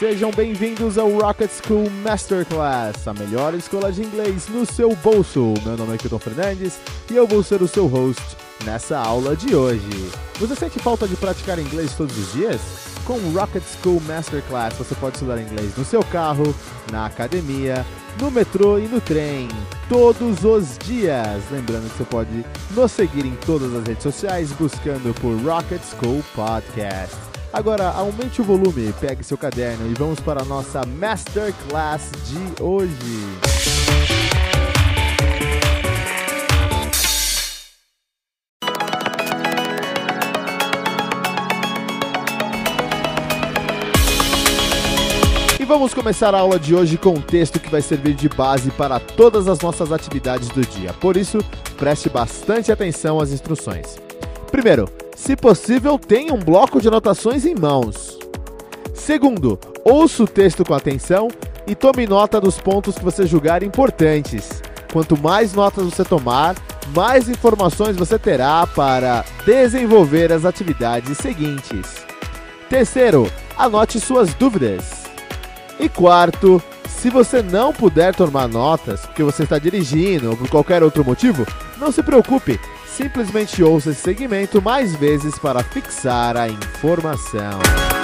sejam bem-vindos ao Rocket School Masterclass, a melhor escola de inglês no seu bolso. Meu nome é Kilton Fernandes e eu vou ser o seu host nessa aula de hoje. Você sente falta de praticar inglês todos os dias? Com o Rocket School Masterclass você pode estudar inglês no seu carro, na academia, no metrô e no trem, todos os dias. Lembrando que você pode nos seguir em todas as redes sociais buscando por Rocket School Podcast. Agora aumente o volume, pegue seu caderno e vamos para a nossa Masterclass de hoje. E vamos começar a aula de hoje com um texto que vai servir de base para todas as nossas atividades do dia. Por isso, preste bastante atenção às instruções. Primeiro, se possível, tenha um bloco de anotações em mãos. Segundo, ouça o texto com atenção e tome nota dos pontos que você julgar importantes. Quanto mais notas você tomar, mais informações você terá para desenvolver as atividades seguintes. Terceiro, anote suas dúvidas. E quarto, se você não puder tomar notas, porque você está dirigindo ou por qualquer outro motivo, não se preocupe, simplesmente ouça esse segmento mais vezes para fixar a informação.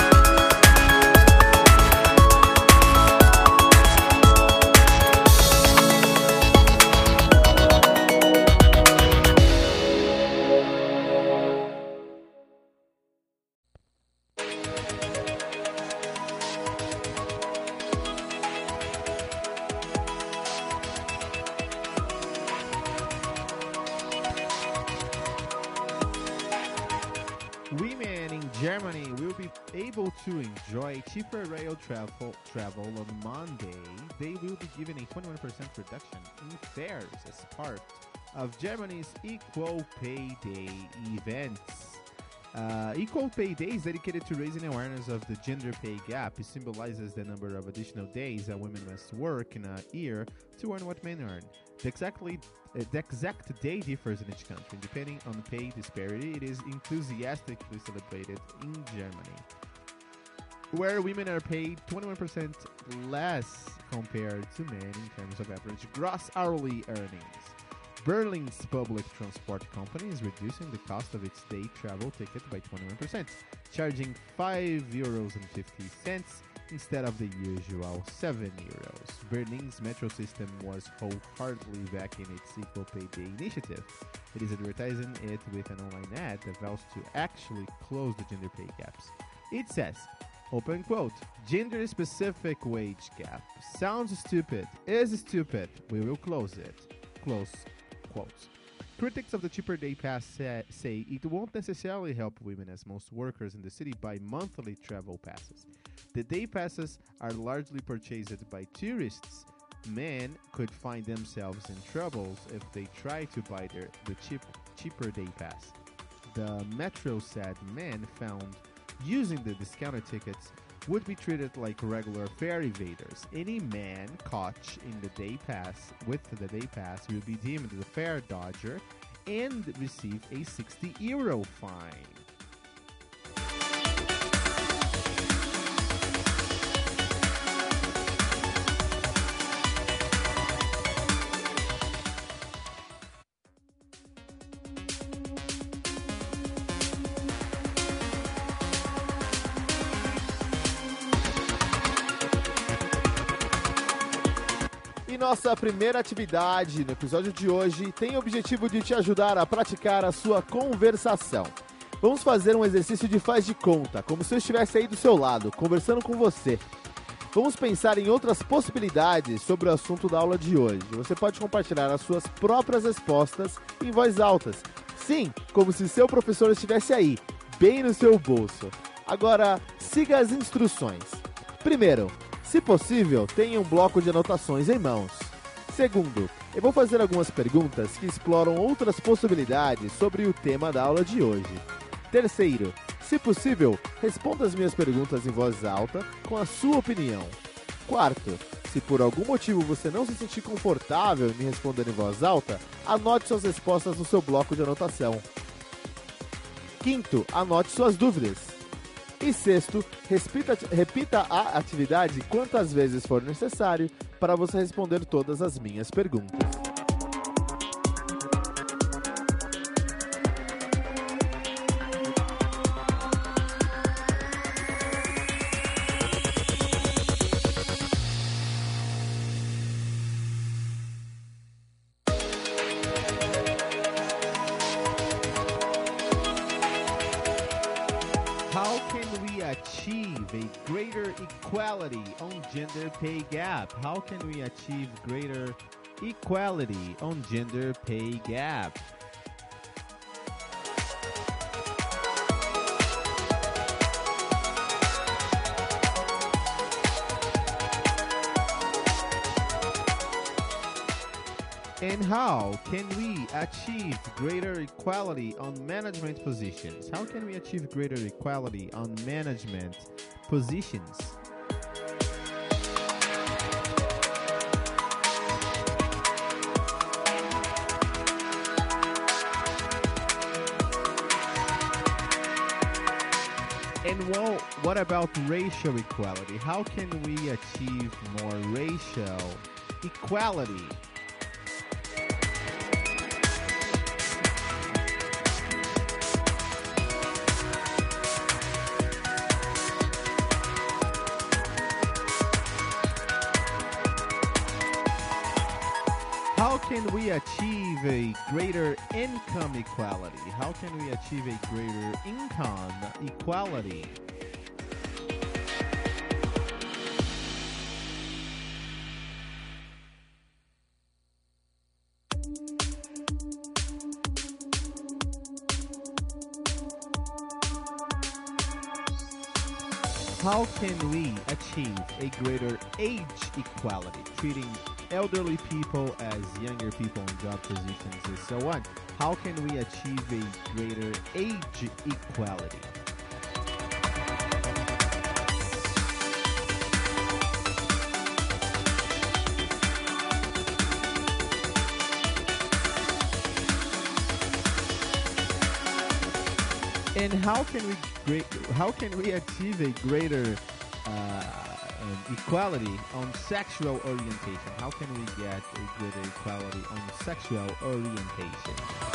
Women in Germany will be able to enjoy cheaper rail travel on Monday. They will be given a 21% reduction in fares as part of Germany's Equal Pay Day events. Equal Pay Day is dedicated to raising awareness of the gender pay gap. It symbolizes the number of additional days that women must work in a year to earn what men earn. The exact day differs in each country. Depending on pay disparity, it is enthusiastically celebrated in Germany, where women are paid 21% less compared to men in terms of average gross hourly earnings. Berlin's public transport company is reducing the cost of its day travel ticket by 21%, charging €5.50 instead of the usual €7. Berlin's metro system was wholeheartedly backing its Equal Pay Day initiative. It is advertising it with an online ad that vows to actually close the gender pay gaps. It says, open quote, gender-specific wage gap. Sounds stupid, is stupid, we will close it. Close quotes. Critics of the cheaper day pass say it won't necessarily help women, as most workers in the city buy monthly travel passes. The day passes are largely purchased by tourists. Men could find themselves in troubles if they try to buy the cheaper day pass. The Metro said men found using the discounted tickets would be treated like regular fare evaders. Any man caught in the day pass will be deemed the fare dodger and receive a €60 fine. E nossa primeira atividade no episódio de hoje tem o objetivo de te ajudar a praticar a sua conversação. Vamos fazer um exercício de faz de conta, como se eu estivesse aí do seu lado, conversando com você. Vamos pensar em outras possibilidades sobre o assunto da aula de hoje. Você pode compartilhar as suas próprias respostas em voz alta. Sim, como se seu professor estivesse aí, bem no seu bolso. Agora, siga as instruções. Primeiro, se possível, tenha um bloco de anotações em mãos. Segundo, eu vou fazer algumas perguntas que exploram outras possibilidades sobre o tema da aula de hoje. Terceiro, se possível, responda as minhas perguntas em voz alta com a sua opinião. Quarto, se por algum motivo você não se sentir confortável em me responder em voz alta, anote suas respostas no seu bloco de anotação. Quinto, anote suas dúvidas. E sexto, repita a atividade quantas vezes for necessário para você responder todas as minhas perguntas. How can we achieve a greater equality on gender pay gap? How can we achieve greater equality on gender pay gap? And how can we achieve greater equality on management positions? How can we achieve greater equality on management positions? And what about racial equality? How can we achieve more racial equality? How can we achieve a greater income equality? How can we achieve a greater income equality? How can we achieve a greater age equality, treating elderly people as younger people in job positions and so on? How can we achieve a greater age equality? And how can we achieve a greater equality on sexual orientation? How can we get a greater equality on sexual orientation?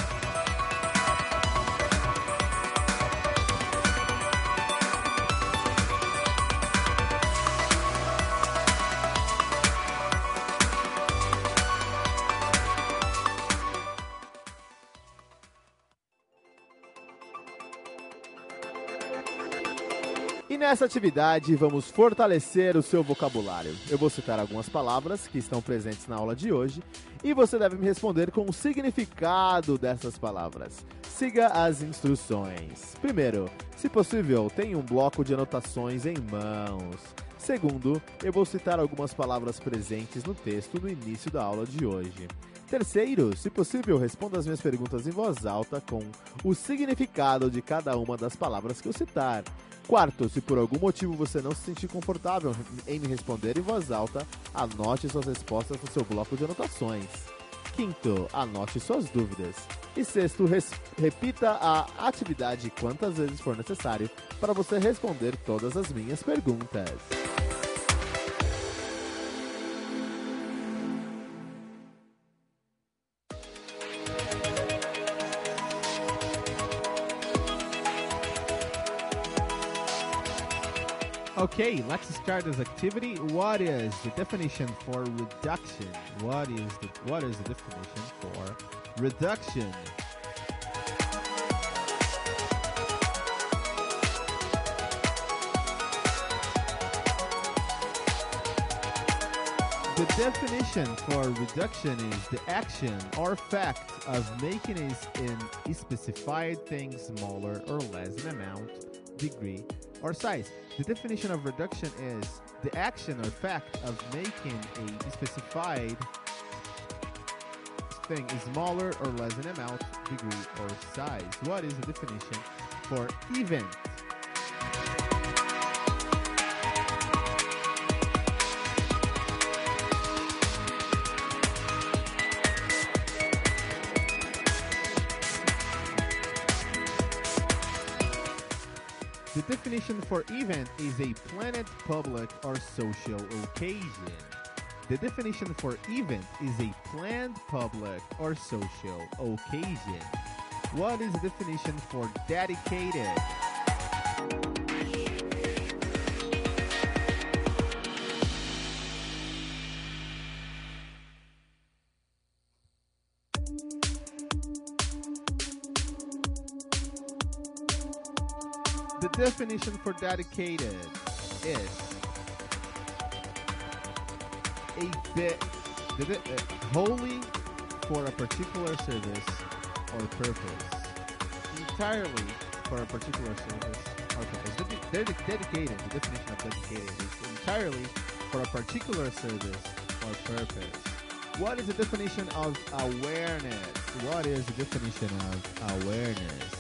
E nessa atividade vamos fortalecer o seu vocabulário. Eu vou citar algumas palavras que estão presentes na aula de hoje e você deve me responder com o significado dessas palavras. Siga as instruções. Primeiro, se possível, tenha um bloco de anotações em mãos. Segundo, eu vou citar algumas palavras presentes no texto no início da aula de hoje. Terceiro, se possível, responda as minhas perguntas em voz alta com o significado de cada uma das palavras que eu citar. Quarto, se por algum motivo você não se sentir confortável em me responder em voz alta, anote suas respostas no seu bloco de anotações. Quinto, anote suas dúvidas. E sexto, repita a atividade quantas vezes for necessário para você responder todas as minhas perguntas. Okay, let's start this activity. What is the definition for reduction? What is the definition for reduction? The definition for reduction is the action or fact of making a specified thing smaller or less in amount, degree, or size. The definition of reduction is the action or fact of making a specified thing smaller or less in amount, degree, or size. What is the definition for event? The definition for event is a planned public or social occasion. The definition for event is a planned public or social occasion. What is the definition for dedicated? The definition for dedicated is wholly for a particular service or purpose. Entirely for a particular service or purpose. Dedicated, the definition of dedicated is entirely for a particular service or purpose. What is the definition of awareness? What is the definition of awareness?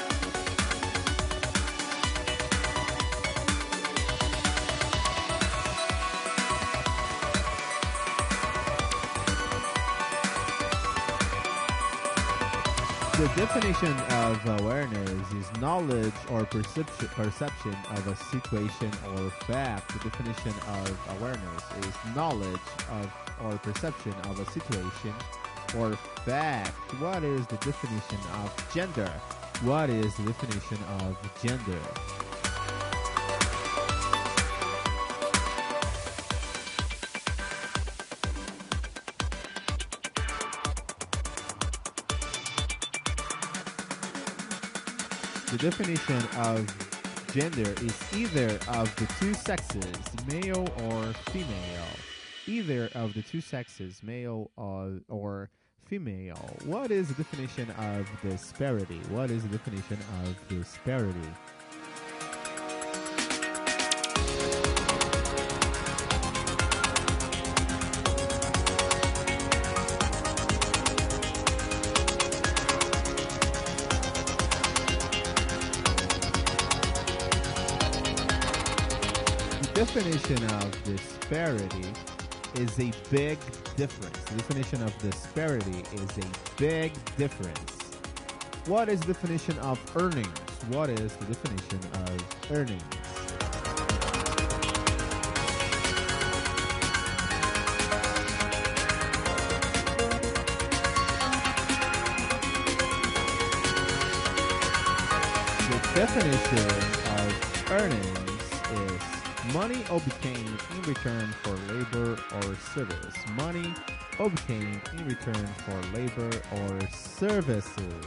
The definition of awareness is knowledge or perception of a situation or fact. The definition of awareness is knowledge of or perception of a situation or fact. What is the definition of gender? What is the definition of gender? The definition of gender is either of the two sexes, male or female. Either of the two sexes, male or female. What is the definition of disparity? What is the definition of disparity? Definition of disparity is a big difference. The definition of disparity is a big difference. What is the definition of earnings? What is the definition of earnings? The definition of earnings is money obtained in return for labor or service. Money obtained in return for labor or services.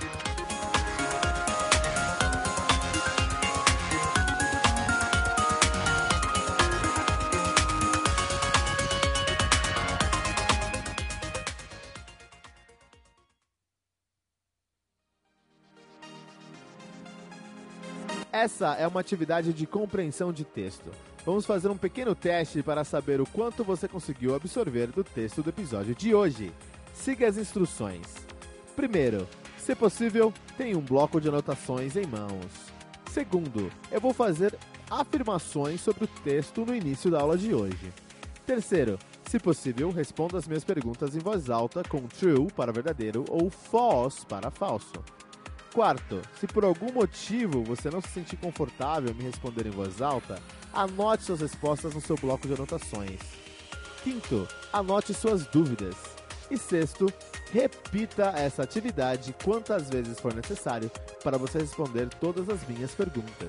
Essa é uma atividade de compreensão de texto. Vamos fazer um pequeno teste para saber o quanto você conseguiu absorver do texto do episódio de hoje. Siga as instruções. Primeiro, se possível, tenha um bloco de anotações em mãos. Segundo, eu vou fazer afirmações sobre o texto no início da aula de hoje. Terceiro, se possível, responda as minhas perguntas em voz alta com true para verdadeiro ou false para falso. Quarto, se por algum motivo você não se sentir confortável em me responder em voz alta, anote suas respostas no seu bloco de anotações. Quinto, anote suas dúvidas. E sexto, repita essa atividade quantas vezes for necessário para você responder todas as minhas perguntas.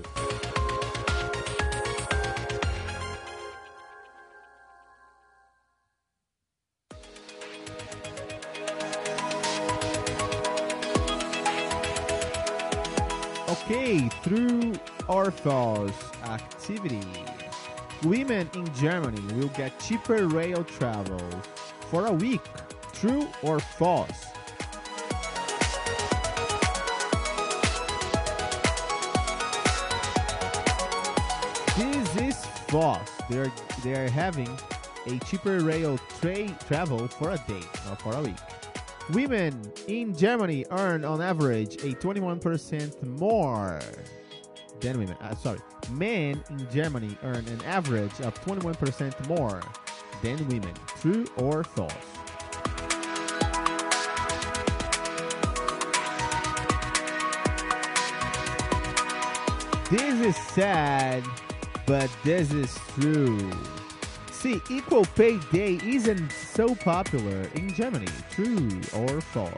Okay, true or false activity. Women in Germany will get cheaper rail travel for a week. True or false? This is false. They are having a cheaper rail travel for a day, not for a week. Women in Germany earn on average a 21% more than women. Men in Germany earn an average of 21% more than women. True or false? This is sad, but this is true. See, Equal Pay Day isn't so popular in Germany. True or false?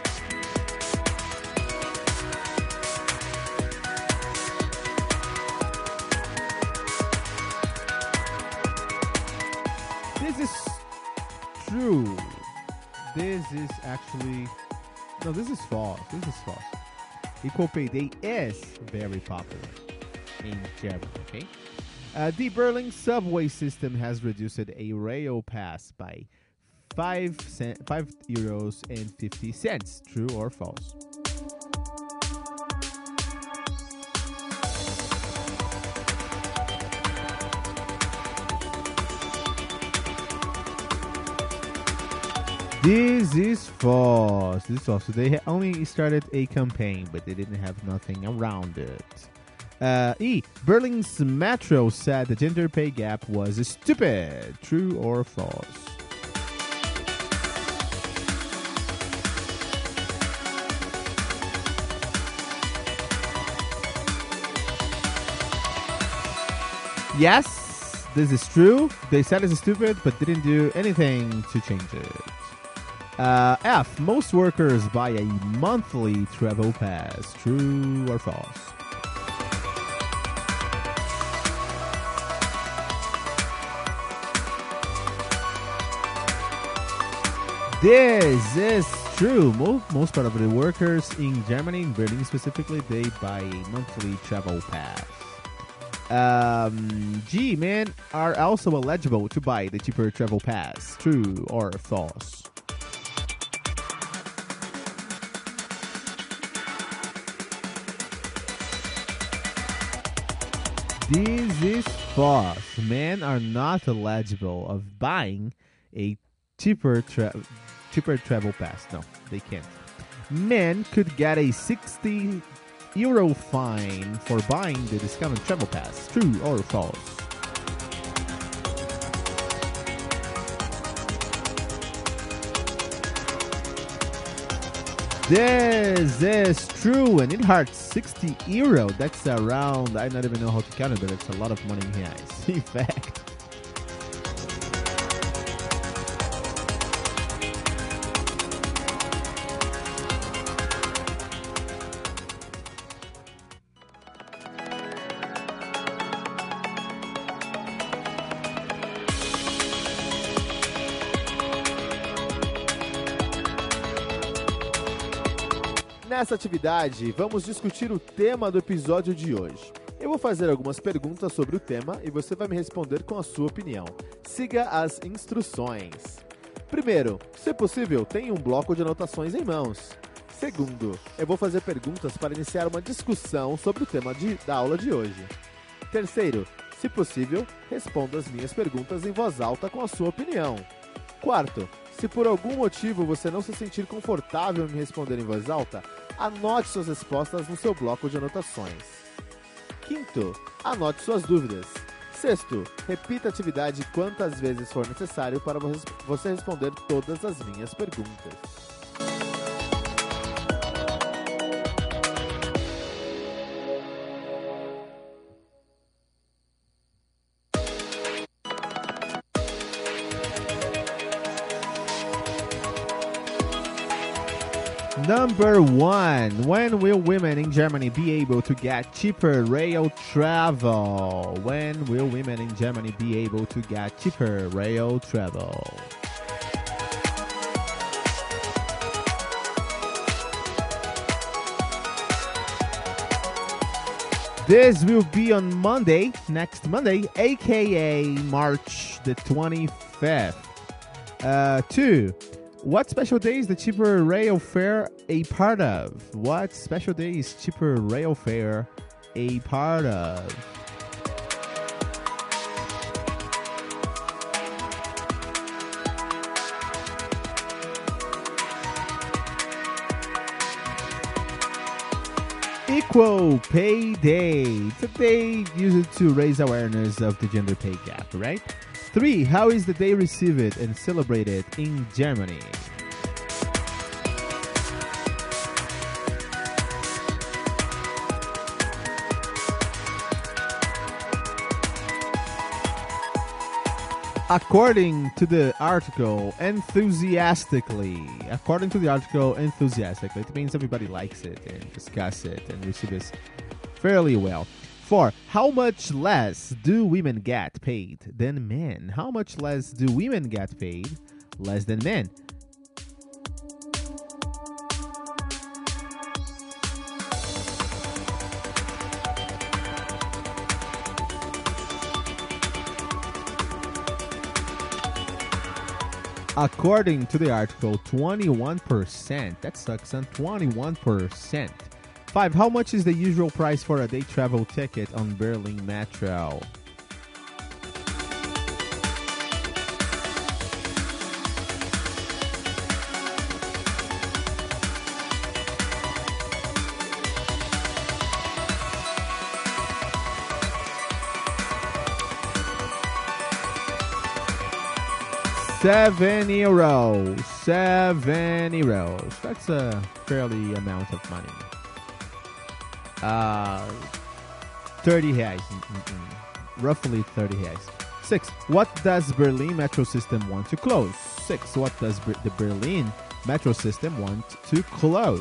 This is true. This is actually... No, this is false. This is false. Equal Pay Day is very popular in Germany, okay? The Berlin subway system has reduced a rail pass by €5.50. True or false? This is false. This is false. So they only started a campaign, but they didn't have nothing around it. Berlin's Metro said the gender pay gap was stupid. True or false? Yes, this is true. They said it's stupid, but didn't do anything to change it. F. Most workers buy a monthly travel pass. True or false? This is true. Most part of the workers in Germany, in Berlin specifically, they buy a monthly travel pass. G. Men are also eligible to buy the cheaper travel pass. True or false? This is false. Men are not eligible of buying a cheaper travel pass. No, they can't. Men could get a €60 fine for buying the discounted travel pass. True or false? This is true, and it hurts €60. That's around, I don't even know how to count it, but it's a lot of money in reais. In fact. Nessa atividade, vamos discutir o tema do episódio de hoje. Eu vou fazer algumas perguntas sobre o tema e você vai me responder com a sua opinião. Siga as instruções. Primeiro, se possível, tenha um bloco de anotações em mãos. Segundo, eu vou fazer perguntas para iniciar uma discussão sobre o tema da aula de hoje. Terceiro, se possível, responda as minhas perguntas em voz alta com a sua opinião. Quarto, se por algum motivo você não se sentir confortável em me responder em voz alta, anote suas respostas no seu bloco de anotações. Quinto, anote suas dúvidas. Sexto, repita a atividade quantas vezes for necessário para você responder todas as minhas perguntas. Number 1. When will women in Germany be able to get cheaper rail travel? When will women in Germany be able to get cheaper rail travel? This will be on Monday, next Monday, aka March the 25th. 2. What special day is the cheaper rail fare a part of? What special day is cheaper rail fare a part of? Equal Pay Day. It's a day used to raise awareness of the gender pay gap, right? 3. How is the day received and celebrated in Germany? According to the article, enthusiastically. According to the article, enthusiastically. It means everybody likes it and discuss it and receives it fairly well. 4. How much less do women get paid than men? How much less do women get paid less than men? According to the article, 21%. That sucks, son. 21%. 5. How much is the usual price for a day travel ticket on Berlin Metro? €7. €7. That's a fairly amount of money. 30 reais. Roughly 30 reais. 6. What does Berlin Metro System want to close? 6. What does the Berlin Metro System want to close?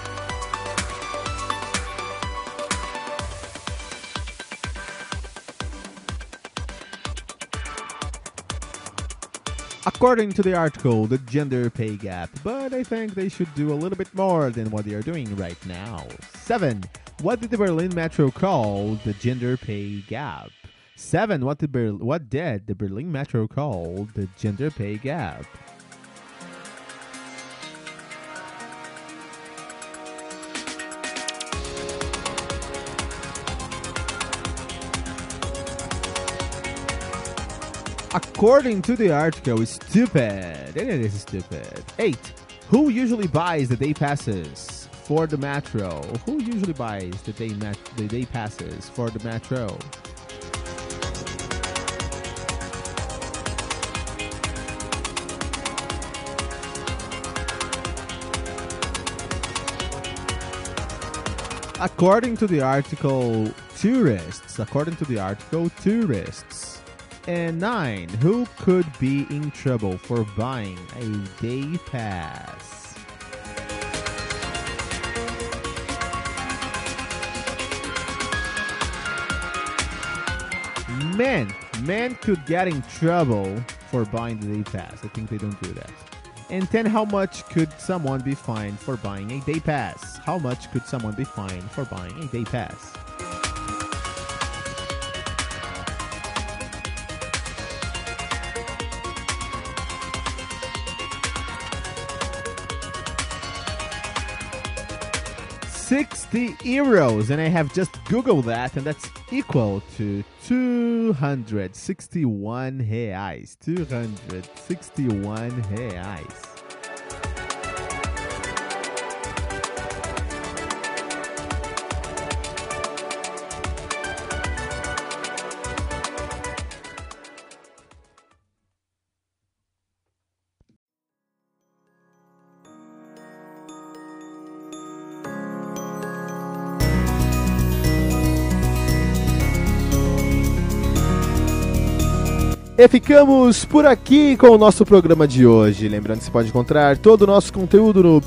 According to the article, the gender pay gap, but I think they should do a little bit more than what they are doing right now. 7. What did the Berlin Metro call the gender pay gap? 7. What did the Berlin Metro call the gender pay gap? According to the article, it's stupid. And it is stupid. 8. Who usually buys the day passes for the metro? Who usually buys the day passes for the metro? According to the article, tourists. According to the article, tourists. And 9. Who could be in trouble for buying a day pass? Men. Men could get in trouble for buying the day pass. I think they don't do that. And 10. How much could someone be fined for buying a day pass? How much could someone be fined for buying a day pass? €60, and I have just Googled that, and that's equal to 261 reais. 261 reais. E ficamos por aqui com o nosso programa de hoje. Lembrando que você pode encontrar todo o nosso conteúdo no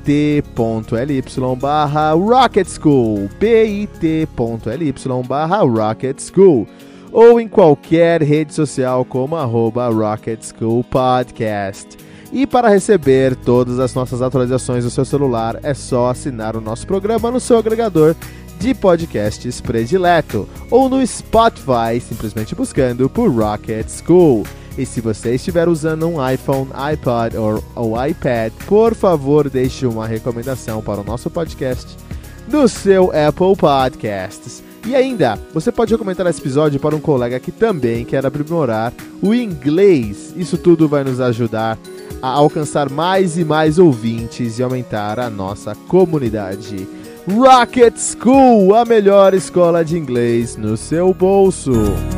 bit.ly/Rocket School, bit.ly/Rocket School, ou em qualquer rede social como @Rocket School Podcast. E para receber todas as nossas atualizações no seu celular, é só assinar o nosso programa no seu agregador de podcasts predileto, ou no Spotify, simplesmente buscando por Rocket School. E se você estiver usando um iPhone, iPod ou iPad, por favor deixe uma recomendação para o nosso podcast no seu Apple Podcasts. E ainda, você pode recomendar esse episódio para um colega que também quer aprimorar o inglês. Isso tudo vai nos ajudar a alcançar mais e mais ouvintes e aumentar a nossa comunidade. Rocket School, a melhor escola de inglês no seu bolso.